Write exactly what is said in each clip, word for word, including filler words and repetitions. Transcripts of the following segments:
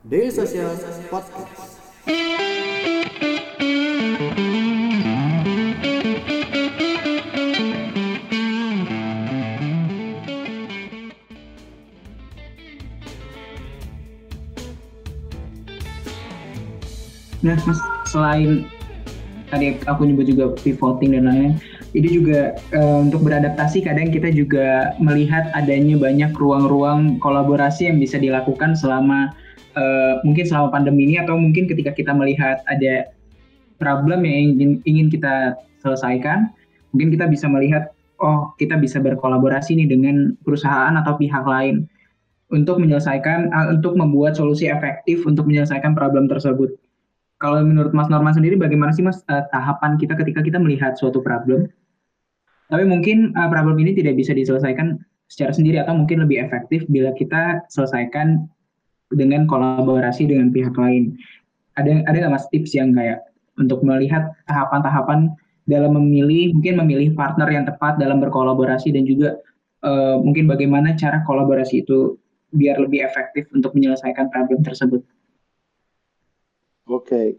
Daily Social Podcast. Nah, Mas, selain tadi aku nyebut juga pivoting dan lain-lain, itu juga eh, untuk beradaptasi kadang kita juga melihat adanya banyak ruang-ruang kolaborasi yang bisa dilakukan selama eh, mungkin selama pandemi ini atau mungkin ketika kita melihat ada problem yang ingin, ingin kita selesaikan, mungkin kita bisa melihat, oh kita bisa berkolaborasi nih dengan perusahaan atau pihak lain untuk menyelesaikan, eh, untuk membuat solusi efektif untuk menyelesaikan problem tersebut. Kalau menurut Mas Norman sendiri, bagaimana sih Mas eh, tahapan kita ketika kita melihat suatu problem, tapi mungkin eh, problem ini tidak bisa diselesaikan secara sendiri atau mungkin lebih efektif bila kita selesaikan dengan kolaborasi dengan pihak lain. Ada ada nggak Mas tips yang kayak untuk melihat tahapan-tahapan dalam memilih, mungkin memilih partner yang tepat dalam berkolaborasi dan juga eh, mungkin bagaimana cara kolaborasi itu biar lebih efektif untuk menyelesaikan problem tersebut? Oke,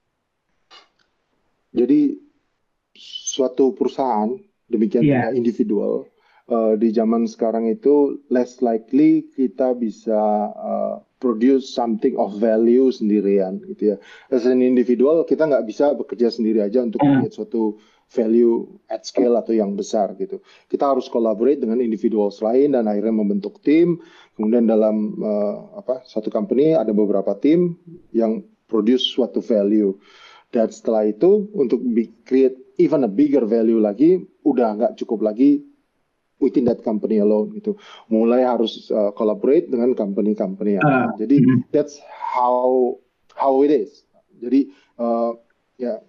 jadi suatu perusahaan, demikian Iya. juga individual, uh, di zaman sekarang itu less likely kita bisa uh, produce something of value sendirian, gitu ya. As an individual, kita nggak bisa bekerja sendiri aja untuk Eh, create suatu value at scale atau yang besar, gitu. Kita harus collaborate dengan individuals lain dan akhirnya membentuk tim. Kemudian dalam uh, apa satu company ada beberapa tim yang produce suatu value. Dan setelah itu untuk create even a bigger value lagi, udah nggak cukup lagi within that company alone gitu. Mulai harus uh, collaborate dengan company-company yang eh, lain. Jadi mm, that's how how it is. Jadi uh, ya yeah,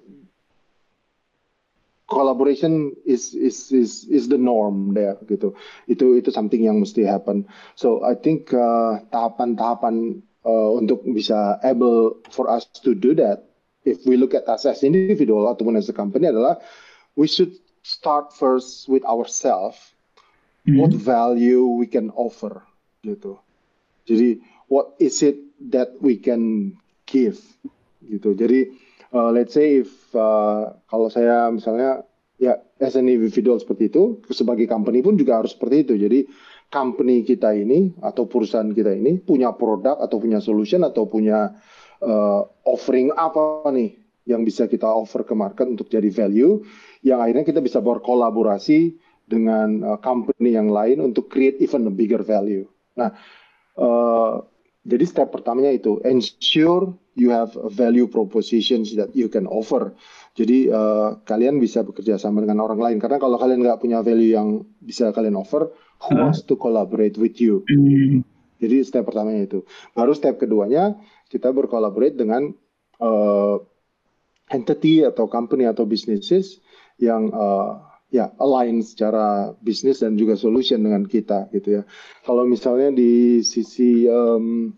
collaboration is is is is the norm there gitu. Itu itu something yang mesti happen. So I think uh, tahapan-tahapan uh, untuk bisa able for us to do that, if we look at us as individual ataupun as a company adalah we should start first with ourselves. What mm. value we can offer gitu. Jadi what is it that we can give gitu. Jadi uh, let's say if uh, kalau saya misalnya ya as an individual seperti itu, sebagai company pun juga harus seperti itu. Jadi company kita ini atau perusahaan kita ini punya produk atau punya solution atau punya uh, offering apa nih yang bisa kita offer ke market untuk jadi value yang akhirnya kita bisa berkolaborasi dengan uh, company yang lain untuk create even a bigger value. Nah, Uh, jadi step pertamanya itu ensure you have a value propositions that you can offer. Jadi uh, kalian bisa bekerja sama dengan orang lain karena kalau kalian nggak punya value yang bisa kalian offer, who Eh, wants to collaborate with you? Gitu. mm. Jadi step pertamanya itu. Baru step keduanya kita berkolaborate dengan uh, entity atau company atau businesses yang uh, ya align secara bisnis dan juga solution dengan kita gitu ya. Kalau misalnya di sisi um,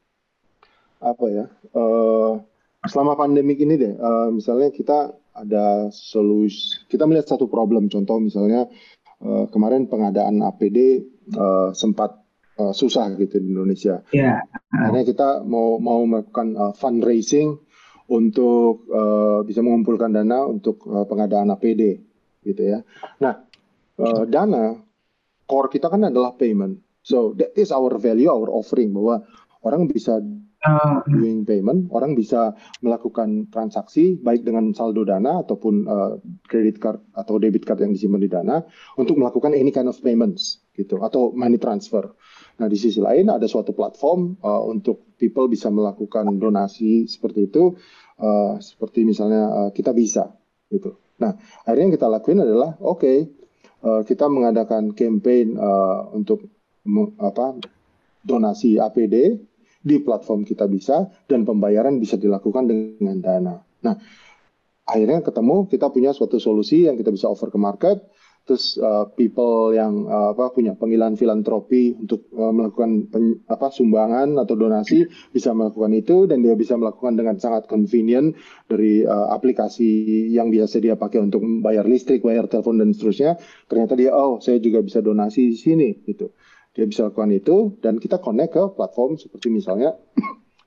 apa ya uh, selama pandemik ini deh, uh, misalnya kita ada solusi, kita melihat satu problem, contoh misalnya uh, kemarin pengadaan A P D uh, sempat uh, susah gitu di Indonesia. Ya, eh, Akhirnya kita mau mau melakukan uh, fundraising untuk uh, bisa mengumpulkan dana untuk uh, pengadaan A P D gitu ya. Nah, uh, dana core kita kan adalah payment. So that is our value, our offering bahwa orang bisa eh, doing payment, orang bisa melakukan transaksi baik dengan saldo dana ataupun uh, credit card atau debit card yang disimpan di dana untuk melakukan any kind of payments gitu atau money transfer. Nah, di sisi lain ada suatu platform uh, untuk people bisa melakukan donasi seperti itu, uh, seperti misalnya uh, kita bisa gitu. Nah, akhirnya yang kita lakuin adalah oke, okay, uh, kita mengadakan campaign uh, untuk me- apa donasi A P D di platform kita bisa dan pembayaran bisa dilakukan dengan dana. Nah, akhirnya ketemu kita punya suatu solusi yang kita bisa offer ke market. Terus uh, people yang uh, apa punya panggilan filantropi untuk uh, melakukan pen, apa sumbangan atau donasi bisa melakukan itu dan dia bisa melakukan dengan sangat convenient dari uh, aplikasi yang biasa dia pakai untuk bayar listrik, bayar telepon dan seterusnya. Ternyata dia oh saya juga bisa donasi di sini gitu. Dia bisa lakukan itu dan kita connect ke platform seperti misalnya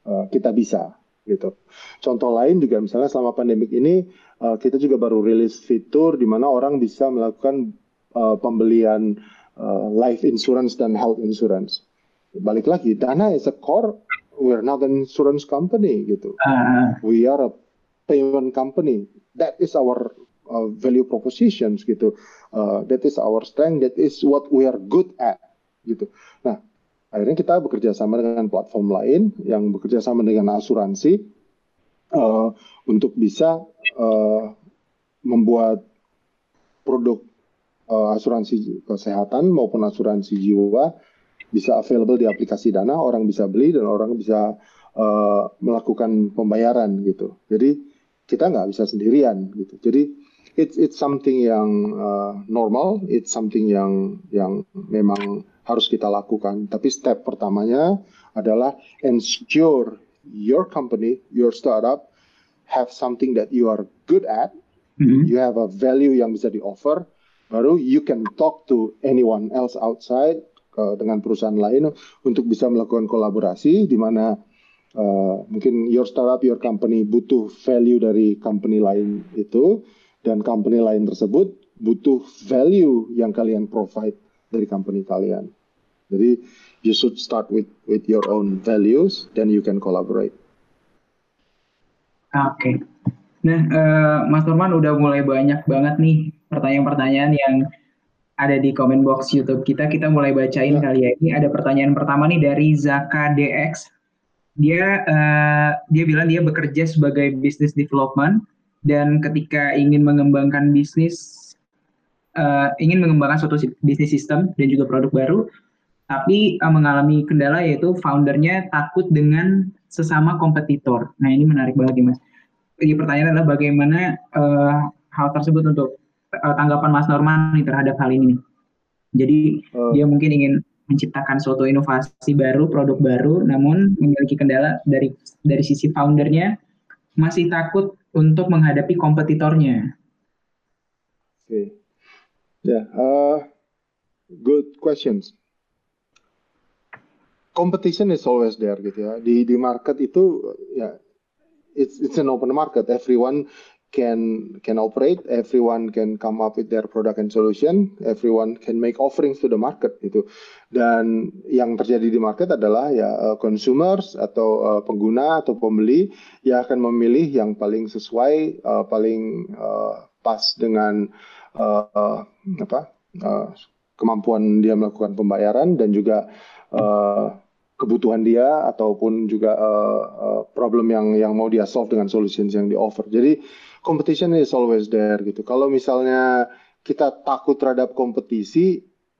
uh, kita bisa gitu. Contoh lain juga misalnya selama pandemik ini uh, kita juga baru rilis fitur di mana orang bisa melakukan uh, pembelian uh, life insurance dan health insurance. Balik lagi, Dana is a core, we're not an insurance company gitu. Uh, We are a payment company. That is our uh, value propositions gitu. Uh, that is our strength. That is what we are good at gitu. Nah, akhirnya kita bekerja sama dengan platform lain yang bekerja sama dengan asuransi uh, untuk bisa uh, membuat produk uh, asuransi kesehatan maupun asuransi jiwa bisa available di aplikasi Dana, orang bisa beli dan orang bisa uh, melakukan pembayaran gitu. Jadi kita nggak bisa sendirian gitu. Jadi it's it's something yang uh, normal, it's something yang yang memang harus kita lakukan. Tapi step pertamanya adalah ensure your company, your startup have something that you are good at, mm-hmm. you have a value yang bisa di offer, baru you can talk to anyone else outside uh, dengan perusahaan lain untuk bisa melakukan kolaborasi di mana Uh, mungkin your startup, your company butuh value dari company lain itu, dan company lain tersebut butuh value yang kalian provide dari company kalian. Jadi you should start with with your own values, then you can collaborate. Oke. Okay. Nah, uh, Mas Norman udah mulai banyak banget nih pertanyaan-pertanyaan yang ada di comment box YouTube kita. Kita mulai bacain ya. Kali ya. Ini ada pertanyaan pertama nih dari Zaka D X. Dia uh, dia bilang dia bekerja sebagai business development dan ketika ingin mengembangkan bisnis uh, ingin mengembangkan suatu bisnis sistem dan juga produk baru, tapi uh, mengalami kendala yaitu foundernya takut dengan sesama kompetitor. Nah, ini menarik banget nih Mas. Jadi pertanyaan adalah bagaimana uh, hal tersebut untuk uh, tanggapan Mas Norman nih terhadap hal ini. Jadi uh. dia mungkin ingin menciptakan suatu inovasi baru, produk baru, namun memiliki kendala dari dari sisi foundernya masih takut untuk menghadapi kompetitornya. Oke, okay. ya, yeah, uh, good questions. Competition is always there gitu ya. Di di market itu ya, yeah, it's it's an open market. Everyone can can operate, everyone can come up with their product and solution, everyone can make offerings to the market gitu. Dan yang terjadi di market adalah ya uh, consumers atau uh, pengguna atau pembeli yang akan memilih yang paling sesuai, uh, paling uh, pas dengan uh, uh, apa uh, kemampuan dia melakukan pembayaran dan juga uh, kebutuhan dia ataupun juga uh, uh, problem yang yang mau dia solve dengan solutions yang di offer. Jadi competition is always there gitu. Kalau misalnya kita takut terhadap kompetisi,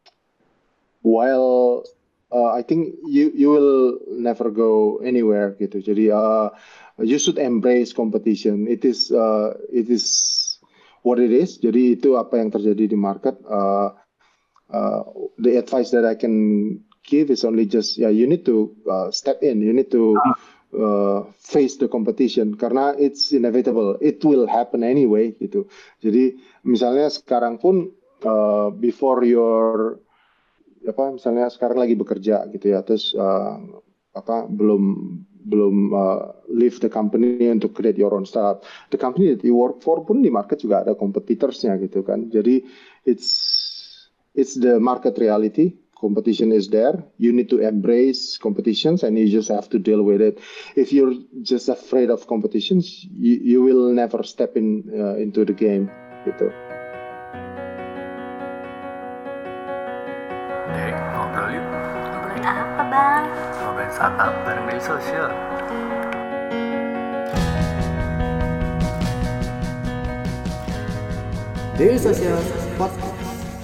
while uh, I think you you will never go anywhere gitu. Jadi uh, you should embrace competition. It is uh, it is what it is. Jadi itu apa yang terjadi di market. Uh, uh, the advice that I can give is only just yeah you need to uh, step in. You need to Uh, face the competition karena it's inevitable, it will happen anyway gitu. Jadi misalnya sekarang pun uh, before your apa misalnya sekarang lagi bekerja gitu ya, terus uh, apa belum belum uh, leave the company untuk create your own startup, the company that you work for pun di market juga ada competitorsnya gitu kan. Jadi it's it's the market reality. Competition is there. You need to embrace competitions and you just have to deal with it. If you're just afraid of competitions, you, you will never step in uh, into the game gitu. Dek, ngobrol yuk. Ngobrolin apa, Bang? Ngobrolin startup bareng Daily Social. Daily Social Podcast.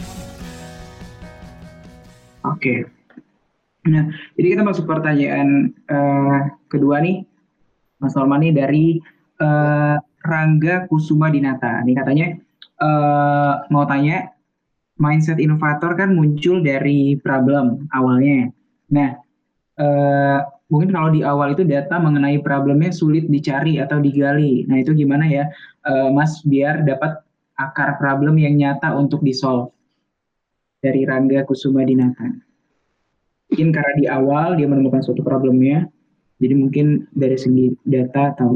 Oke, okay. Nah jadi kita masuk pertanyaan uh, kedua nih, Mas Norman nih dari uh, Rangga Kusuma Dinata. Nih katanya uh, mau tanya, mindset inovator kan muncul dari problem awalnya. Nah uh, mungkin kalau di awal itu data mengenai problemnya sulit dicari atau digali. Nah itu gimana ya, uh, Mas, biar dapat akar problem yang nyata untuk di-solve? Dari Rangga Kusuma Dinata. Mungkin karena di awal dia menemukan suatu problemnya, Jadi mungkin dari segi data atau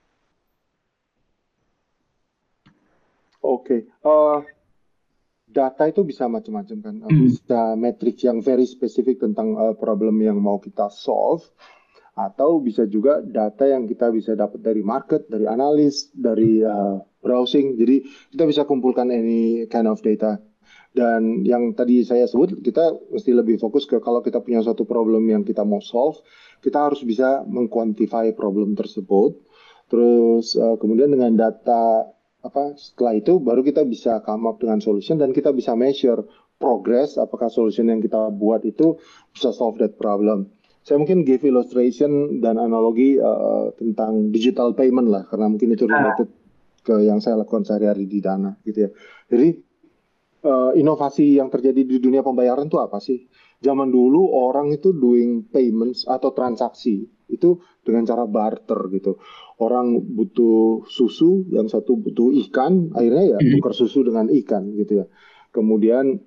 Oke, eh, data itu bisa macam-macam kan, Eh, Hmm. bisa metrik yang very spesifik tentang eh, problem yang mau kita solve, atau bisa juga data yang kita bisa dapat dari market, dari analis, dari eh, browsing. Jadi kita bisa kumpulkan any kind of data. Dan yang tadi saya sebut, kita mesti lebih fokus ke kalau kita punya suatu problem yang kita mau solve, kita harus bisa mengquantify problem tersebut. Terus eh, kemudian dengan data apa setelah itu baru kita bisa come up dengan solution dan kita bisa measure progress apakah solution yang kita buat itu bisa solve that problem. Saya mungkin give illustration dan analogi uh, tentang digital payment lah karena mungkin itu ah, related ke yang saya lakukan sehari-hari di Dana gitu ya. Jadi uh, inovasi yang terjadi di dunia pembayaran itu apa sih? Zaman dulu orang itu doing payments atau transaksi itu dengan cara barter gitu. Orang butuh susu, yang satu butuh ikan, akhirnya ya hmm. tukar susu dengan ikan gitu ya. Kemudian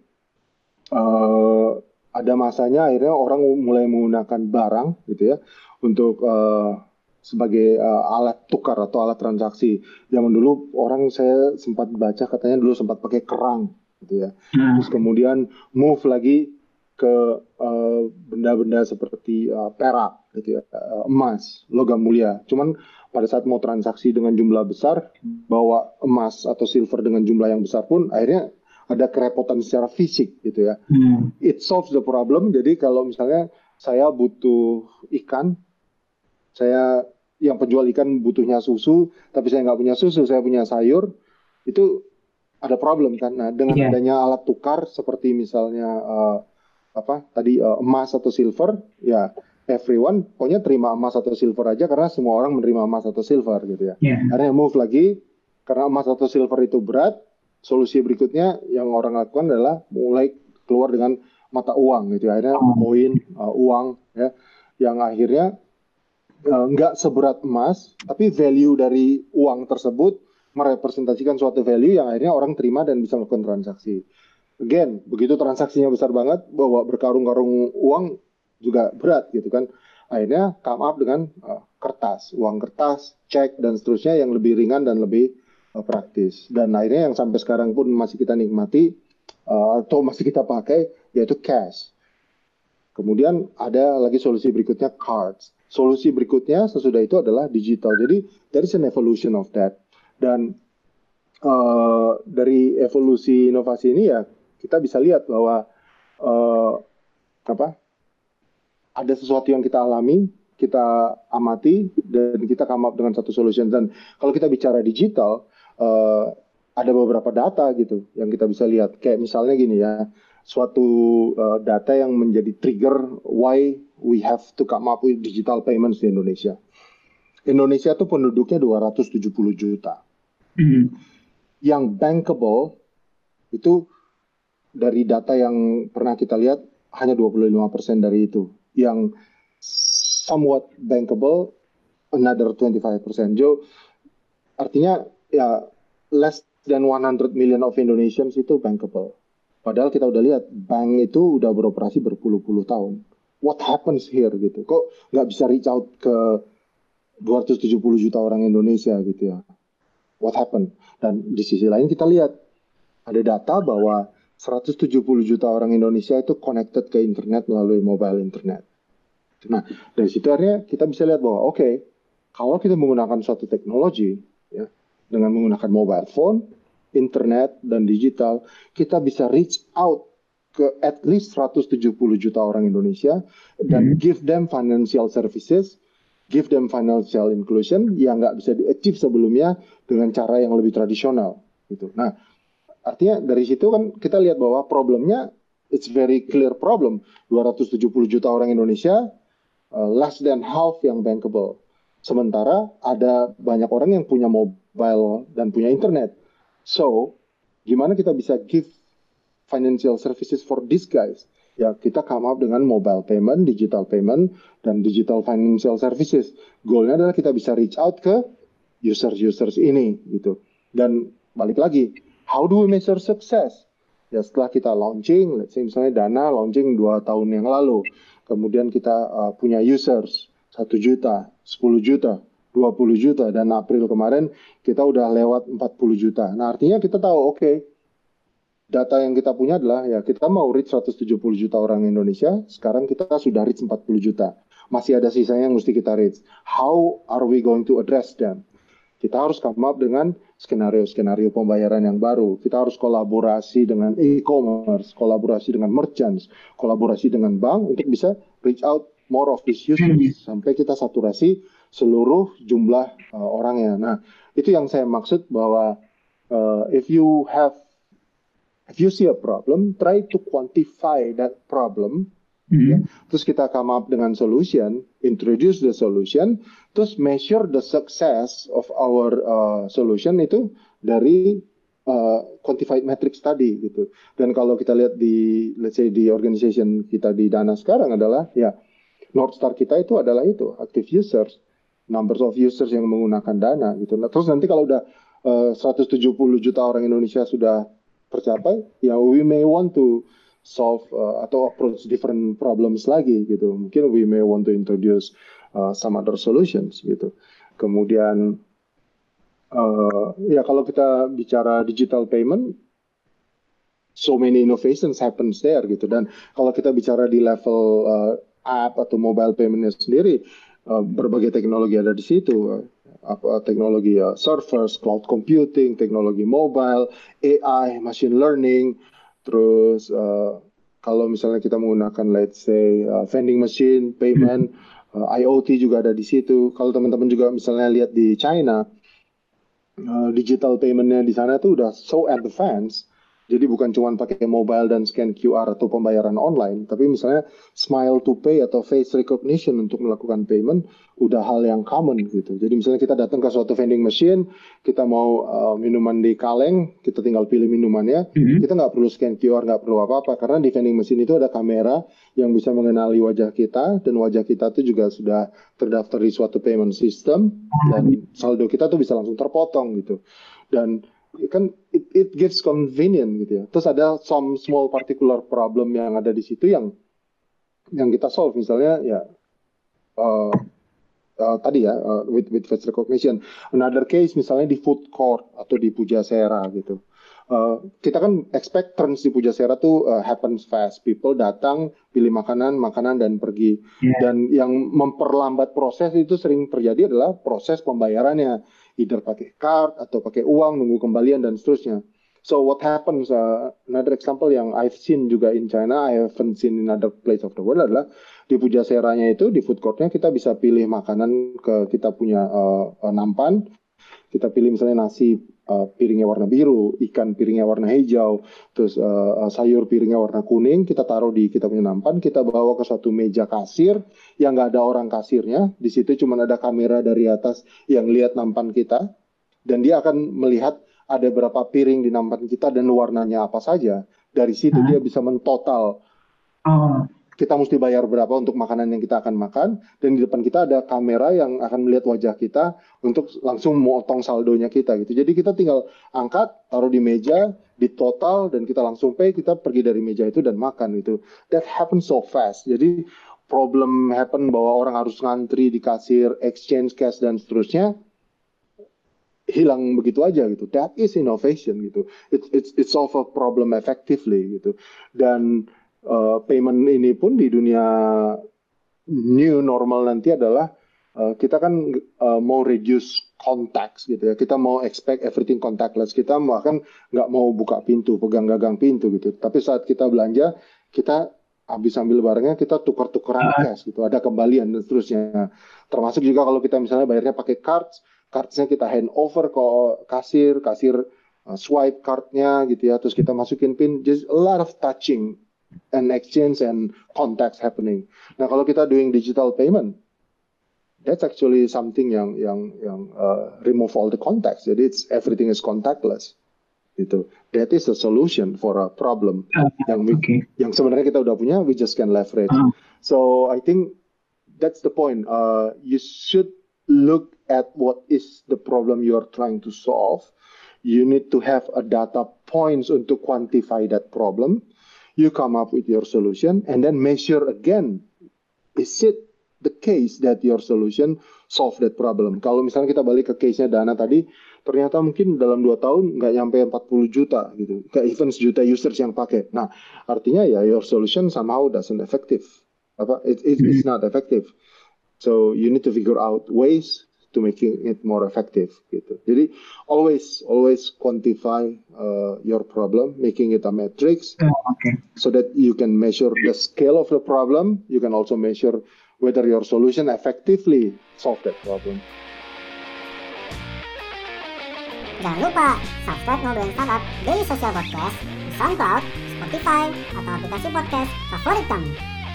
uh, ada masanya akhirnya orang mulai menggunakan barang gitu ya untuk uh, sebagai uh, alat tukar atau alat transaksi. Zaman dulu orang saya sempat baca katanya dulu sempat pakai kerang gitu ya. Nah, Terus kemudian move lagi ke uh, benda-benda seperti uh, perak gitu ya, uh, emas, logam mulia. Cuman pada saat mau transaksi dengan jumlah besar, bawa emas atau silver dengan jumlah yang besar pun akhirnya ada kerepotan secara fisik gitu ya. hmm. It solves the problem. Jadi kalau misalnya saya butuh ikan, saya yang penjual ikan butuhnya susu, tapi saya nggak punya susu, saya punya sayur, itu ada problem kan. Nah, dengan Iya. adanya alat tukar seperti misalnya uh, apa tadi uh, emas atau silver, ya everyone pokoknya terima emas atau silver aja karena semua orang menerima emas atau silver gitu ya. Iya. Akhirnya move lagi karena emas atau silver itu berat. Solusi berikutnya yang orang lakukan adalah mulai keluar dengan mata uang gitu ya. Akhirnya Oh. koin, uh, uang ya, yang akhirnya uh, nggak seberat emas, tapi value dari uang tersebut merepresentasikan suatu value yang akhirnya orang terima dan bisa melakukan transaksi. Again, begitu transaksinya besar banget, bawa berkarung-karung uang juga berat gitu kan. Akhirnya come up dengan uh, kertas, uang kertas, cek dan seterusnya yang lebih ringan dan lebih uh, praktis. Dan akhirnya yang sampai sekarang pun masih kita nikmati uh, atau masih kita pakai yaitu cash. Kemudian ada lagi solusi berikutnya cards. Solusi berikutnya sesudah itu adalah digital. Jadi there is an evolution of that. Dan uh, dari evolusi inovasi ini ya kita bisa lihat bahwa uh, apa ada sesuatu yang kita alami, kita amati dan kita come up dengan satu solution. Dan kalau kita bicara digital, uh, ada beberapa data gitu yang kita bisa lihat. Kayak misalnya gini ya, suatu uh, data yang menjadi trigger why we have to come up with digital payments di Indonesia. Indonesia tuh penduduknya dua ratus tujuh puluh juta. Hmm. Yang bankable itu dari data yang pernah kita lihat hanya dua puluh lima persen dari itu. Yang somewhat bankable another twenty-five percent. Jo, artinya ya less than one hundred million of Indonesians itu bankable. Padahal kita udah lihat bank itu udah beroperasi berpuluh-puluh tahun. What happens here gitu? Kok nggak bisa reach out ke dua ratus tujuh puluh juta orang Indonesia gitu ya? What happened? Dan di sisi lain kita lihat ada data bahwa seratus tujuh puluh juta orang Indonesia itu connected ke internet melalui mobile internet. Nah, dari situ akhirnya kita bisa lihat bahwa oke, okay, kalau kita menggunakan suatu teknologi ya, dengan menggunakan mobile phone, internet dan digital, kita bisa reach out ke at least seratus tujuh puluh juta orang Indonesia dan Hmm. give them financial services, give them financial inclusion yang nggak bisa di-achieve sebelumnya dengan cara yang lebih tradisional gitu. Nah, artinya dari situ kan kita lihat bahwa problemnya it's very clear problem. dua ratus tujuh puluh juta orang Indonesia, uh, less than half yang bankable. Sementara ada banyak orang yang punya mobile dan punya internet. So, gimana kita bisa give financial services for these guys? Ya, kita come up dengan mobile payment, digital payment, dan digital financial services. Goalnya adalah kita bisa reach out ke users-users ini gitu. Dan balik lagi, how do we measure success? Ya setelah kita launching, let's say misalnya Dana launching dua tahun yang lalu, kemudian kita uh, punya users, satu juta, sepuluh juta, dua puluh juta, dan April kemarin kita udah lewat empat puluh juta. Nah, artinya kita tahu, oke, okay, data yang kita punya adalah ya kita mau reach seratus tujuh puluh juta orang Indonesia, sekarang kita sudah reach empat puluh juta. Masih ada sisanya yang mesti kita reach. How are we going to address them? Kita harus come up dengan skenario-skenario pembayaran yang baru. Kita harus kolaborasi dengan e-commerce, kolaborasi dengan merchants, kolaborasi dengan bank untuk bisa reach out more of these users sampai kita saturasi seluruh jumlah uh, orangnya. Nah, itu yang saya maksud bahwa uh, if you have if you see a problem, try to quantify that problem. Mm-hmm. Ya. Terus kita come up dengan solution, introduce the solution, terus measure the success of our uh, solution itu dari uh, quantified metrics tadi gitu. Dan kalau kita lihat di let's say di organization kita di Dana sekarang adalah ya North Star kita itu adalah itu active users, numbers of users yang menggunakan Dana gitu. Nah, terus nanti kalau udah uh, seratus tujuh puluh juta orang Indonesia sudah tercapai, ya we may want to solve uh, atau approach different problems lagi gitu. Mungkin we may want to introduce uh, some other solutions gitu. Kemudian uh, ya kalau kita bicara digital payment, so many innovations happens there gitu. Dan kalau kita bicara di level uh, app atau mobile paymentnya sendiri, uh, berbagai teknologi ada di situ. Uh, apa teknologi uh, servers, cloud computing, teknologi mobile, A I, machine learning. Terus uh, kalau misalnya kita menggunakan let's say uh, vending machine, payment, uh, I O T juga ada di situ. Kalau teman-teman juga misalnya lihat di China, uh, digital paymentnya di sana tuh udah so advanced. Jadi bukan cuma pakai mobile dan scan Q R atau pembayaran online, tapi misalnya smile to pay atau face recognition untuk melakukan payment udah hal yang common gitu. Jadi misalnya kita datang ke suatu vending machine, kita mau uh, minuman di kaleng, kita tinggal pilih minumannya, mm-hmm. kita nggak perlu scan Q R, nggak perlu apa-apa, karena di vending machine itu ada kamera yang bisa mengenali wajah kita, dan wajah kita itu juga sudah terdaftar di suatu payment system, dan saldo kita tuh bisa langsung terpotong gitu. Dan kan it, it gives convenient gitu ya. Terus ada some small particular problem yang ada di situ yang yang kita solve, misalnya ya uh, uh, tadi ya uh, with with face recognition. Another case misalnya di food court atau di Pujasera gitu. Uh, kita kan expect trends di Pujasera tuh uh, happens fast. People datang, pilih makanan, makanan dan pergi. Yeah. Dan yang memperlambat proses itu sering terjadi adalah proses pembayarannya. Either pakai card atau pakai uang, nunggu kembalian dan seterusnya. So what happens, uh, another example yang I've seen juga in China, I haven't seen in other place of the world adalah di Pujaseranya itu, di food courtnya kita bisa pilih makanan ke kita punya uh, uh, nampan. Kita pilih misalnya nasi uh, piringnya warna biru, ikan piringnya warna hijau, terus uh, sayur piringnya warna kuning, kita taruh di kita punya nampan, kita bawa ke suatu meja kasir yang nggak ada orang kasirnya, di situ cuma ada kamera dari atas yang lihat nampan kita, dan dia akan melihat ada berapa piring di nampan kita dan warnanya apa saja. Dari situ hmm. dia bisa mentotal. Oh. Kita mesti bayar berapa untuk makanan yang kita akan makan, dan di depan kita ada kamera yang akan melihat wajah kita untuk langsung motong saldonya kita gitu. Jadi kita tinggal angkat, taruh di meja, di total, dan kita langsung pay, kita pergi dari meja itu dan makan gitu. That happens so fast. Jadi problem happen bahwa orang harus ngantri di kasir, exchange cash dan seterusnya, hilang begitu aja gitu. That is innovation gitu. It it's it solve a problem effectively gitu. Dan Uh, payment ini pun di dunia new normal nanti adalah uh, kita kan uh, mau reduce contacts gitu ya. Kita mau expect everything contactless. Kita bahkan nggak mau buka pintu, pegang gagang pintu gitu. Tapi saat kita belanja, kita habis ambil barangnya, kita tukar-tukaran cash gitu. Ada kembalian dan seterusnya. Termasuk juga kalau kita misalnya bayarnya pakai cards, cardsnya kita hand over ke kasir, kasir uh, swipe cardnya gitu ya. Terus kita masukin pin. Just a lot of touching and exchange and contacts happening. Nah, kalau kita doing digital payment, that's actually something yang yang yang uh, remove all the contacts. Jadi it's everything is contactless. Gitu. That is a solution for a problem uh, yang we, okay. yang sebenarnya kita udah punya, we just can leverage. Uh. So I think that's the point. Uh, you should look at what is the problem you are trying to solve. You need to have a data points untuk quantify that problem. You come up with your solution and then measure again. Is it the case that your solution solve that problem. Kalau misalnya kita balik ke case-nya Dana tadi, ternyata mungkin dalam dua tahun nggak nyampe empat puluh juta gitu, nggak even sejuta users yang pakai. Nah, artinya ya your solution somehow doesn't effective. Apa? It, it, it's not effective. So you need to figure out ways to making it more effective gitu. Jadi always always quantify uh, your problem, making it a matrix, Oh, okay. so that you can measure the scale of the problem. You can also measure whether your solution effectively solve that problem. Jangan lupa subscribe Ngobrolin Startup Daily Social Podcast di SoundCloud, Spotify, atau aplikasi podcast favorit kamu.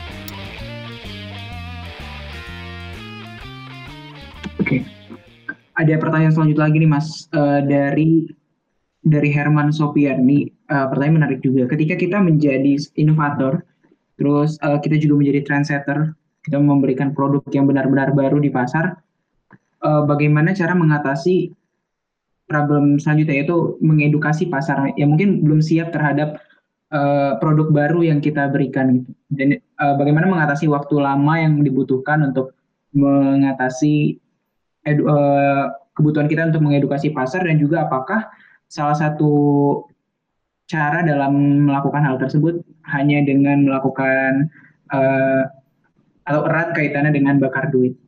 Oke, ada pertanyaan selanjutnya lagi nih Mas, uh, dari dari Herman Sopian nih. Uh, pertanyaan menarik juga. Ketika kita menjadi inovator, terus uh, kita juga menjadi trendsetter, kita memberikan produk yang benar-benar baru di pasar, uh, bagaimana cara mengatasi problem selanjutnya, yaitu mengedukasi pasar yang mungkin belum siap terhadap uh, produk baru yang kita berikan gitu. Dan uh, bagaimana mengatasi waktu lama yang dibutuhkan untuk mengatasi Edu, uh, kebutuhan kita untuk mengedukasi pasar, dan juga apakah salah satu cara dalam melakukan hal tersebut hanya dengan melakukan uh, atau erat kaitannya dengan bakar duit.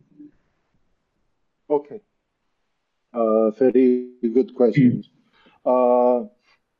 Okay, uh, very good question. Uh,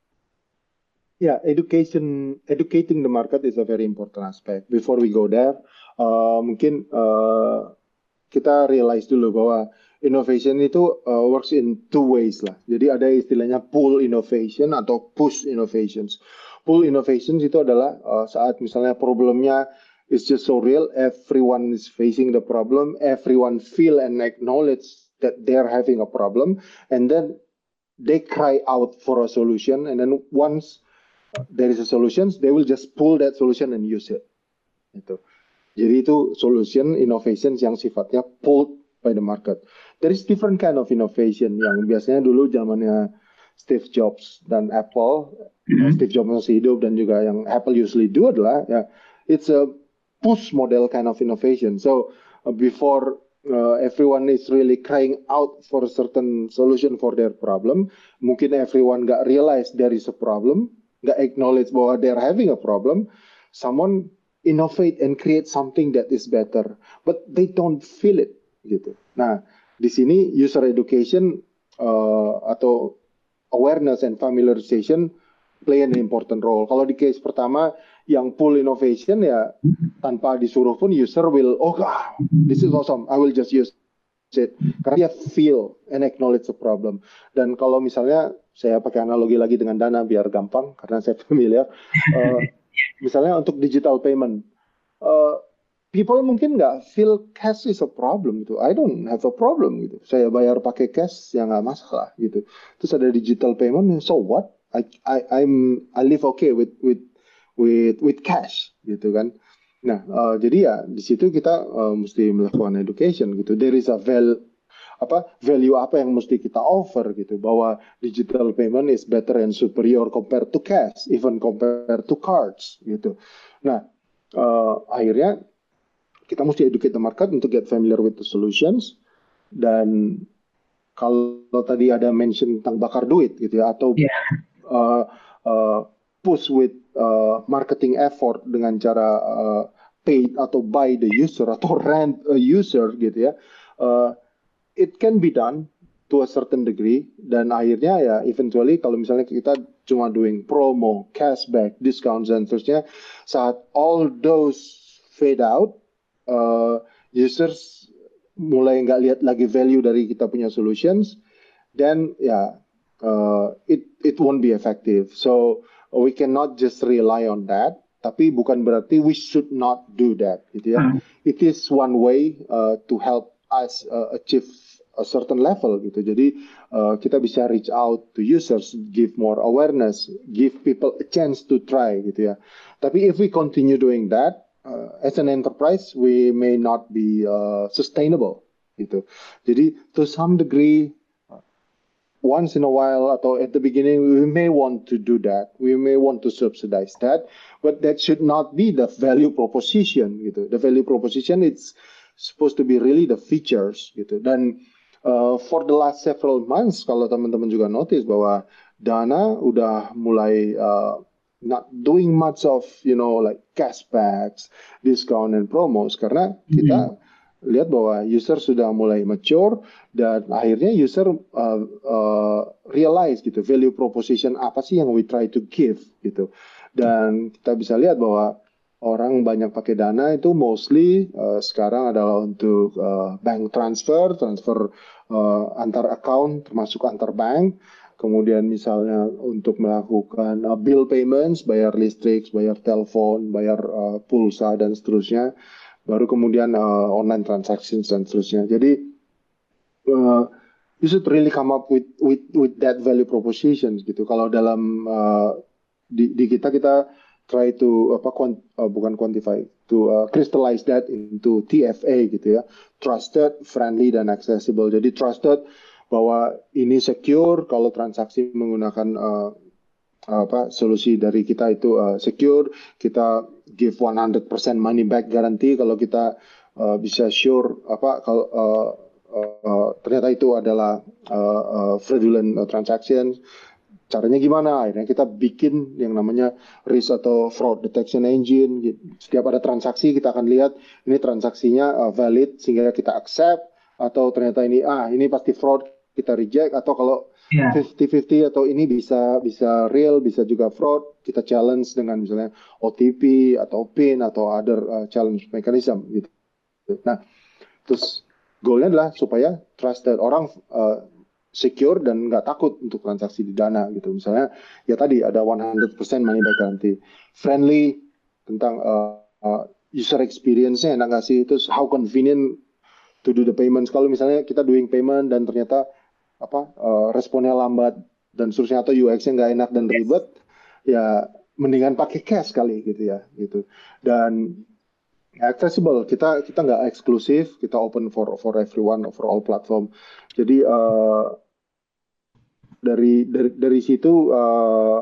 yeah, education, educating the market is a very important aspect. Before we go there, uh, mungkin uh, kita realize dulu bahwa innovation itu uh, works in two ways lah. Jadi ada istilahnya pull innovation atau push innovations. Pull innovations itu adalah uh, saat misalnya problemnya is just so real, everyone is facing the problem, everyone feel and acknowledge that they're having a problem, and then they cry out for a solution, and then once there is a solution, they will just pull that solution and use it. Itu. Jadi itu solution innovations yang sifatnya pulled by the market. There is different kind of innovation yang biasanya dulu zamannya Steve Jobs dan Apple, mm-hmm. Steve Jobs masih hidup dan juga yang Apple usually do adalah ya, it's a push model kind of innovation. So uh, before uh, everyone is really crying out for a certain solution for their problem, mungkin everyone gak realize there is a problem, gak acknowledge bahwa they're having a problem, someone innovate and create something that is better, but they don't feel it gitu. Nah, di sini user education uh, atau awareness and familiarization play an important role. Kalau di case pertama yang pull innovation ya tanpa disuruh pun user will, oh God, this is awesome, I will just use it. Karena dia feel and acknowledge the problem. Dan kalau misalnya saya pakai analogi lagi dengan Dana biar gampang karena saya familiar. Uh, misalnya untuk digital payment, uh, people mungkin nggak feel cash is a problem gitu. I don't have a problem gitu. Saya bayar pakai cash ya nggak masalah gitu. Terus ada digital payment, so what? I I I'm I live okay with with with with cash gitu kan. Nah uh, jadi ya di situ kita uh, mesti melakukan education gitu. There is a value apa value apa yang mesti kita offer gitu, bahwa digital payment is better and superior compared to cash, even compared to cards gitu. Nah uh, akhirnya kita mesti educate the market untuk get familiar with the solutions. Dan kalau tadi ada mention tentang bakar duit gitu ya, atau yeah. uh, uh, push with uh, marketing effort dengan cara uh, pay atau buy the user atau rent a user gitu ya, uh, it can be done to a certain degree. Dan akhirnya ya eventually kalau misalnya kita cuma doing promo, cashback, discounts dan seterusnya, saat all those fade out, Uh, users mulai nggak lihat lagi value dari kita punya solutions, then ya yeah, uh, it it won't be effective. So we cannot just rely on that. Tapi bukan berarti we should not do that, gitu ya. Hmm. It is one way uh, to help us uh, achieve a certain level, gitu. Jadi uh, kita bisa reach out to users, give more awareness, give people a chance to try, gitu ya. Tapi if we continue doing that, Uh, as an enterprise, we may not be uh, sustainable, gitu. Jadi, to some degree, uh, once in a while atau at the beginning, we may want to do that. We may want to subsidize that, but that should not be the value proposition, gitu. The value proposition it's supposed to be really the features gitu. Dan uh, for the last several months, kalau teman-teman juga notice bahwa Dana udah mulai uh, not doing much of, you know, like cashbacks, discount and promos, karena kita mm-hmm. lihat bahwa user sudah mulai mature dan akhirnya user uh, uh, realize gitu value proposition apa sih yang we try to give gitu. Dan kita bisa lihat bahwa orang banyak pakai Dana itu mostly uh, sekarang adalah untuk uh, bank transfer, transfer uh, antar account termasuk antar bank. Kemudian misalnya untuk melakukan uh, bill payments, bayar listrik, bayar telepon, bayar uh, pulsa dan seterusnya. Baru kemudian uh, online transactions dan seterusnya. Jadi uh, you should really come up with with with that value proposition gitu. Kalau dalam uh, di, di kita kita try to apa quant, uh, bukan quantify to uh, crystallize that into T F A gitu ya. Trusted, friendly dan accessible. Jadi trusted bahwa ini secure kalau transaksi menggunakan uh, apa solusi dari kita itu uh, secure, kita give one hundred percent money back guarantee kalau kita uh, bisa sure apa kalau uh, uh, uh, ternyata itu adalah uh, uh, fraudulent uh, transaction. Caranya gimana? Akhirnya kita bikin yang namanya risk atau fraud detection engine. Setiap ada transaksi kita akan lihat ini transaksinya uh, valid sehingga kita accept, atau ternyata ini ah ini pasti fraud, kita reject, atau kalau yeah. fifty fifty atau ini bisa bisa real, bisa juga fraud, kita challenge dengan misalnya O T P atau PIN atau other uh, challenge mechanism gitu. Nah, terus goalnya adalah supaya trusted, orang uh, secure dan nggak takut untuk transaksi di Dana gitu. Misalnya ya tadi ada one hundred percent money back guarantee, friendly tentang uh, uh, user experience-nya enak nggak sih, terus how convenient to do the payments. Kalau misalnya kita doing payment dan ternyata apa uh, responnya lambat dan seterusnya atau U X-nya nggak enak dan ribet, ya mendingan pakai cash kali gitu ya gitu. Dan accessible, kita kita nggak eksklusif, kita open for for everyone, for all platform. Jadi uh, dari dari dari situ uh,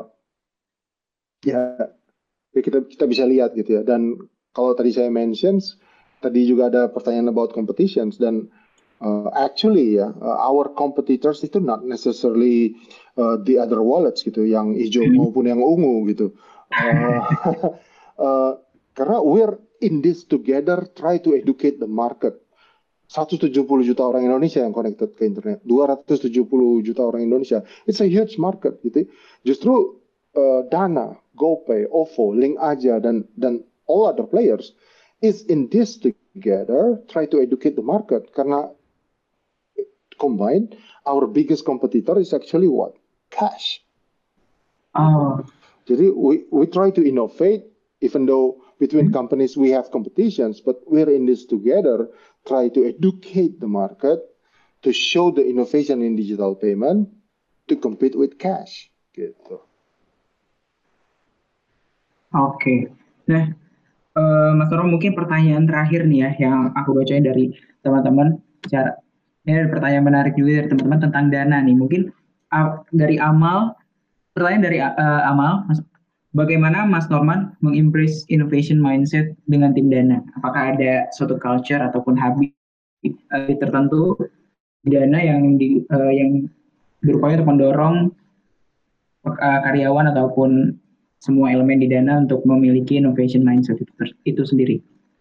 ya, ya kita kita bisa lihat gitu ya. Dan kalau tadi saya mentions, tadi juga ada pertanyaan about competitions, dan Uh, actually ya, uh, our competitors itu not necessarily uh, the other wallets gitu, yang hijau maupun yang ungu gitu. Uh, uh, karena we're in this together, try to educate the market. seratus tujuh puluh juta orang Indonesia yang connected ke internet, dua ratus tujuh puluh juta orang Indonesia. It's a huge market gitu. Justru uh, Dana, GoPay, O V O, Link Aja dan dan all other players is in this together, try to educate the market, karena combined, our biggest competitor is actually what? Cash. Oh. Jadi we we try to innovate, even though between companies we have competitions, but we're in this together, try to educate the market, to show the innovation in digital payment, to compete with cash. Gitu. Oke. Okay. Nah, uh, Mas Toro, mungkin pertanyaan terakhir nih ya yang aku bacain dari teman-teman. Cara Ini ada pertanyaan menarik juga dari teman-teman tentang Dana nih. Mungkin uh, dari Amal, pertanyaan dari uh, Amal, Mas, bagaimana Mas Norman mengimpress innovation mindset dengan tim Dana? Apakah ada suatu culture ataupun habit uh, tertentu di Dana yang di, uh, yang berupaya untuk mendorong uh, karyawan ataupun semua elemen di Dana untuk memiliki innovation mindset itu, itu sendiri?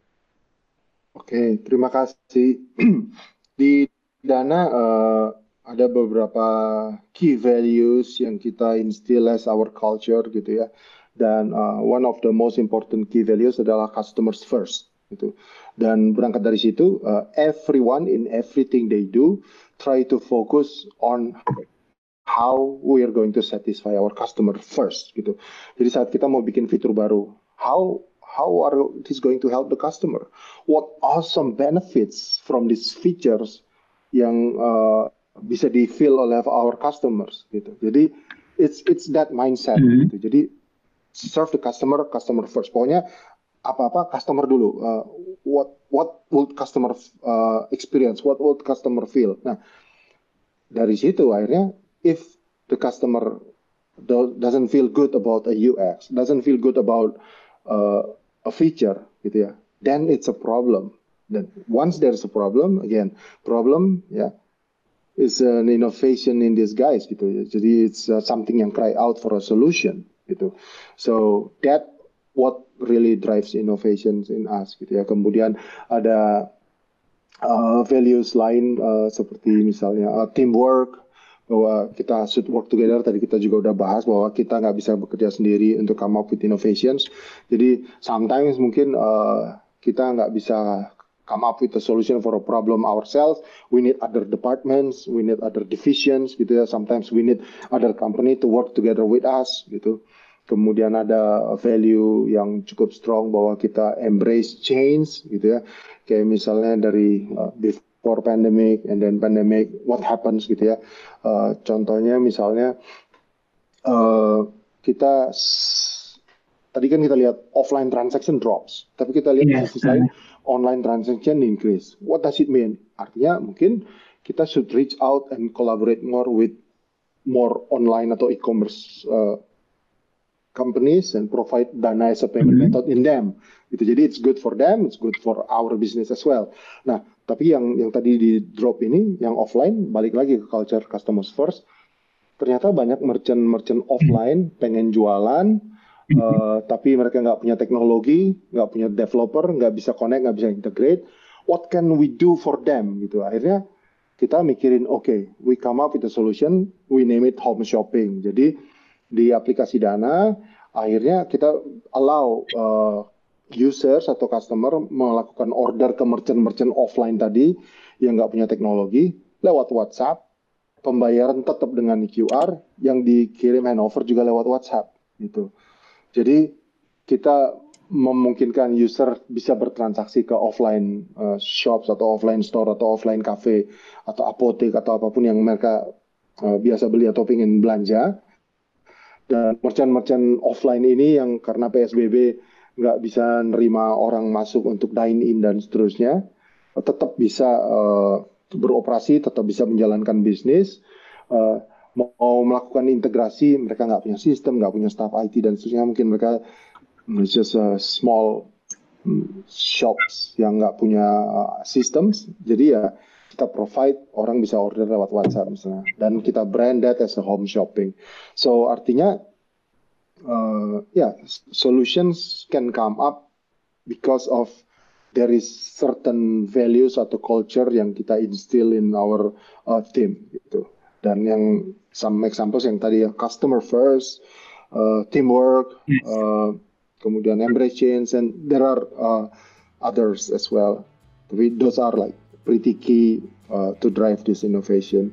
Oke, terima kasih. Di Dana uh, ada beberapa key values yang kita instill as our culture gitu ya. Dan uh, one of the most important key values adalah customers first gitu. Dan berangkat dari situ, uh, everyone in everything they do try to focus on how we are going to satisfy our customer first gitu. Jadi saat kita mau bikin fitur baru, how how are this going to help the customer? What awesome benefits from these features yang uh, bisa di-feel oleh our customers gitu. Jadi it's it's that mindset mm-hmm. gitu. Jadi serve the customer, customer first. Pokoknya apa-apa customer dulu. Uh, what what would customer uh, experience? What would customer feel? Nah, dari situ akhirnya if the customer do, doesn't feel good about a U X, doesn't feel good about uh, a feature gitu ya, then it's a problem. Then once there's a problem, again, problem ya yeah, is an innovation in disguise gitu ya. Jadi it's uh, something yang cry out for a solution gitu. So that what really drives innovations in us gitu ya. Kemudian ada uh, values lain uh, seperti misalnya uh, teamwork, bahwa kita should work together. Tadi kita juga udah bahas bahwa kita nggak bisa bekerja sendiri untuk come up with innovations. Jadi sometimes mungkin uh, kita nggak bisa come up with a solution for a problem ourselves. We need other departments, we need other divisions gitu ya. Sometimes we need other company to work together with us gitu. Kemudian ada value yang cukup strong bahwa kita embrace change gitu ya. Kayak misalnya dari uh, before pandemic and then pandemic, what happens gitu ya. Uh, contohnya misalnya uh, kita s- tadi kan kita lihat offline transaction drops, tapi kita lihat Yes. di sisi lain online transaction increase. What does it mean? Artinya mungkin kita should reach out and collaborate more with more online atau e-commerce uh, companies and provide Dana as a payment Mhm. method in them. Gitu. Jadi it's good for them, it's good for our business as well. Nah, tapi yang yang tadi di drop ini, yang offline, balik lagi ke culture customers first. Ternyata banyak merchant-merchant offline pengen jualan, uh, tapi mereka nggak punya teknologi, nggak punya developer, nggak bisa connect, nggak bisa integrate. What can we do for them? Gitu. Akhirnya kita mikirin, oke, okay, we come up with a solution, we name it home shopping. Jadi di aplikasi Dana, akhirnya kita allow uh, users atau customer melakukan order ke merchant-merchant offline tadi yang nggak punya teknologi lewat WhatsApp, pembayaran tetap dengan Q R, yang dikirim handover juga lewat WhatsApp gitu. Jadi kita memungkinkan user bisa bertransaksi ke offline uh, shops atau offline store atau offline cafe atau apotek atau apapun yang mereka uh, biasa beli atau ingin belanja. Dan merchant-merchant offline ini yang karena P S B B nggak bisa nerima orang masuk untuk dine in dan seterusnya, tetap bisa uh, beroperasi, tetap bisa menjalankan bisnis. Uh, mau melakukan integrasi, mereka nggak punya sistem, nggak punya staff I T dan seterusnya, mungkin mereka just a small mm, shops yang nggak punya uh, systems. Jadi ya kita provide, orang bisa order lewat WhatsApp misalnya, dan kita brand that as a home shopping. So artinya uh, ya yeah, solutions can come up because of there is certain values atau culture yang kita instill in our uh, team gitu. Dan yang some examples yang tadi ya, customer first, uh, teamwork, uh, kemudian embrace change, and there are uh, others as well. Tapi those are like pretty key uh, to drive this innovation.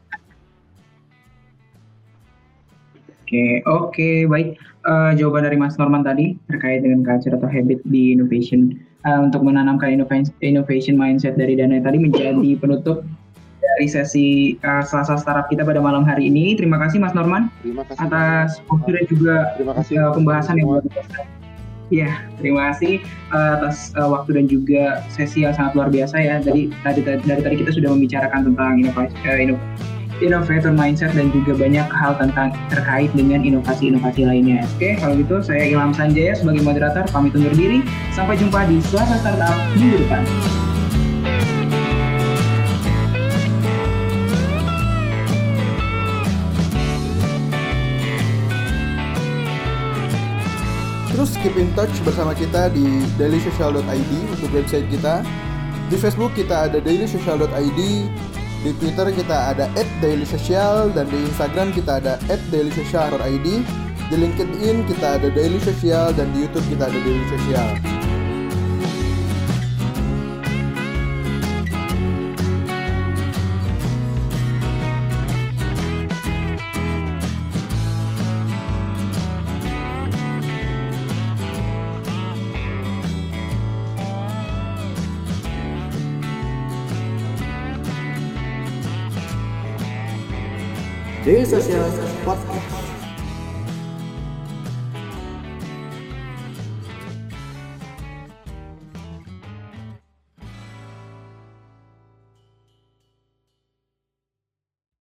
Oke, oke, baik. Uh, jawaban dari Mas Norman tadi terkait dengan culture atau habit di innovation uh, untuk menanamkan innovation, innovation mindset dari Dana tadi menjadi penutup dari sesi uh, Selasa Startup kita pada malam hari ini. Terima kasih Mas Norman Terima kasih atas waktu dan juga Terima kasih uh, pembahasan yang semua. luar biasa. Ya, terima kasih uh, atas uh, waktu dan juga sesi yang sangat luar biasa ya. Jadi tadi dari tadi kita sudah membicarakan tentang inovasi, uh, inov- innovator mindset dan juga banyak hal tentang terkait dengan inovasi-inovasi lainnya. Oke, kalau gitu saya Ilham Sanjaya sebagai moderator pamit undur diri. Sampai jumpa di Selasa Startup minggu depan. Terus keep in touch bersama kita di daily social dot i d untuk website kita. Di Facebook kita ada daily social dot i d, di Twitter kita ada at dailysocial, dan di Instagram kita ada at dailysocial dot i d. Di LinkedIn kita ada Daily Social, dan di YouTube kita ada Daily Social. Daily Social Podcast.